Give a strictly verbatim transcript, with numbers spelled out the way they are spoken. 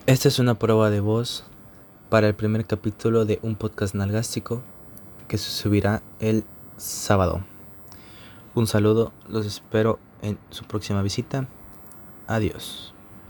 Esta es una prueba de voz para el primer capítulo de un podcast nalgástico que se subirá el sábado. Un saludo, los espero en su próxima visita. Adiós.